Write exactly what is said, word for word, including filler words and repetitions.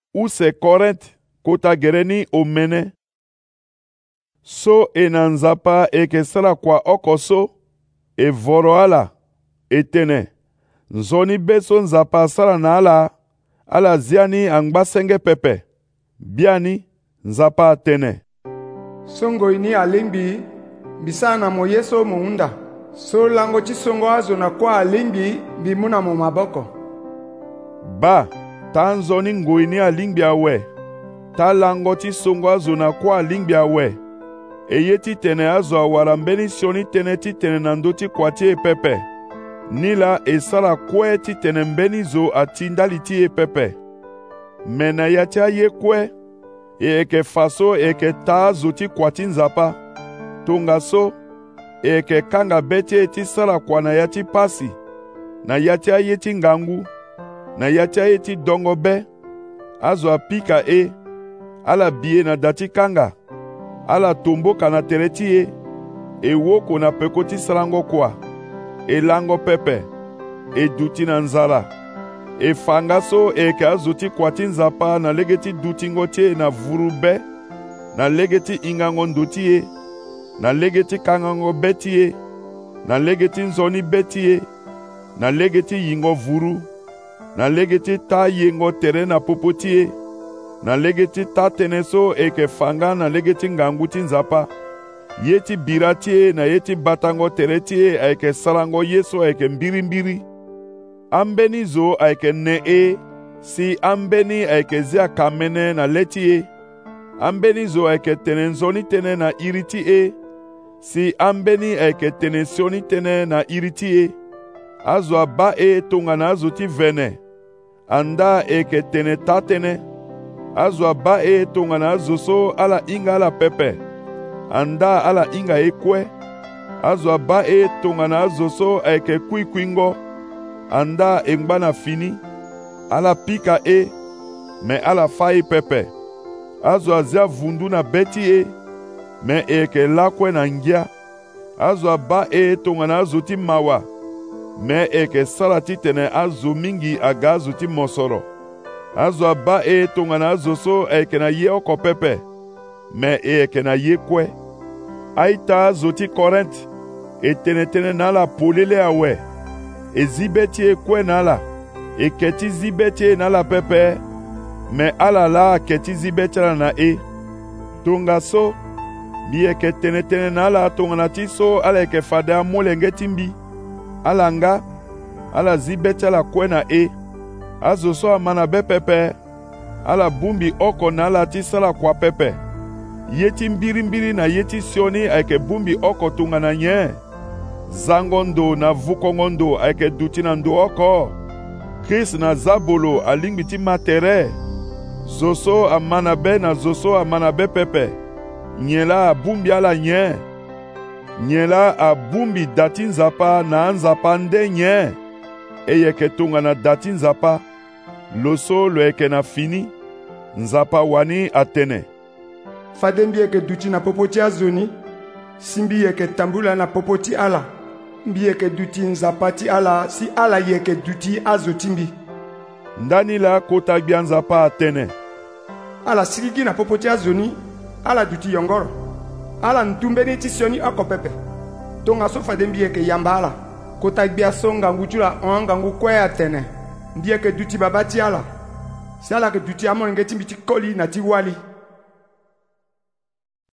use Korinthe kota gereni omene. So e na nzapa eke sala kwa oko so, e voro ala, etene. Nzoni beso nzapa sala na ala, ala ziani angba senge pepe. Biani, nzapa atene. Songo ini alimbi, bisana mo yeso muunda. So lango chisongo azo na kwa alimbi, bimuna mo maboko. Ba, ta nzoni ngoini alimbi awe. Ta lango chisongo azo na kwa alimbi awe. Eyeti tene azo awara mbeni sioni tene ti tene nandoti kwa tie pepe. Nila esala kwe ti tene mbeni zo atindali tie pepe. Mena yatia ye kwe, e eke faso eke ta zoti kwa tinzapa. Tonga so, e eke kanga beti eti sala kwa na yati pasi. Na yatia yeti ngangu, na yatia yeti dongo be. Azo apika e, ala bie na dati kanga. Ala tombo kana tereti e, e woko na pekoti salango kwa. E lango pepe, e duti na nzala. E fanga so e ke azuti kwa tinzapa na legeti duti ngotie na vurube, na legeti ingango nduti e, na legeti kangango beti e, na legeti nzoni beti e, na legeti yingo vuru, na legeti ta yengo tere na popoti e, na legeti ta teneso e ke fanga na legeti ngangu tinzapa. Yeti biratie na yeti batango teretie aike salango yeso aike mbiri mbiri. Ambeni zo aike ne e, si ambeni aike zia kamene na letie. Ambeni zo aike tenenzoni tene na iriti e, si ambeni aike tenesioni tene na iriti e. Azwa ba e tonga na azuti vene. Anda eke tene tatene. Azwa ba e tonga na azuso ala inga ala pepe. Anda ala inga ekwe. Azwa ba e tonga na azoso eke kui kuingo. Anda engba na fini. Ala pika e, me ala fai pepe. Azwa zia vundu na beti e, me eke lakwe na ngia. Azwa ba e tonga na azoti mawa. Me eke salati tene azo mingi aga azoti mosoro. Azwa ba e tonga na azoso eke na ye oko pepe. Me eke na ye kwe. Aita zoti Korinthe, e tene tene nala polele awe. E zibeti e kwe nala, e keti zibeti e nala pepe. Me ala la keti zibeti la na e. Tonga so, bi eke tene tene nala tonga na ti so ala eke fade a mole ngetimbi. Ala nga, ala zibeti la kwe na e. Azo so amana be pepe. Ala bumbi oko nala ti sala kwa pepe. Yeti mbiri mbiri na yeti sioni aike bumbi oko tunga na nye. Zangondo na vukongondo aike duti na ndo oko. Chris na zabolo alingbiti matere. Zoso amanabe na zoso amanabe pepe. Nyela bumbi ala nye. Nyela a bumbi dati nzapa na nzapa nde nye. Eyeke tunga na dati nzapa. Loso lo eke na fini. Nzapa wani atene. Fadembi eke duti na popoti azoni, simbi eke tambula na popoti ala, mbi eke duti nzapati ala, si ala yeke duti azotimbi. Ndani la kota bia nzapa atene. Ala sirigi na popoti azoni, ala duti yongoro. Ala ntumbeni tisioni oko pepe. Tonga so fadembi eke yamba ala, kota bia so ngangu chula ongangu kwe atene. Mbi eke duti babati ala, si ala ke duti amon ngeti mbiti koli na ti wali.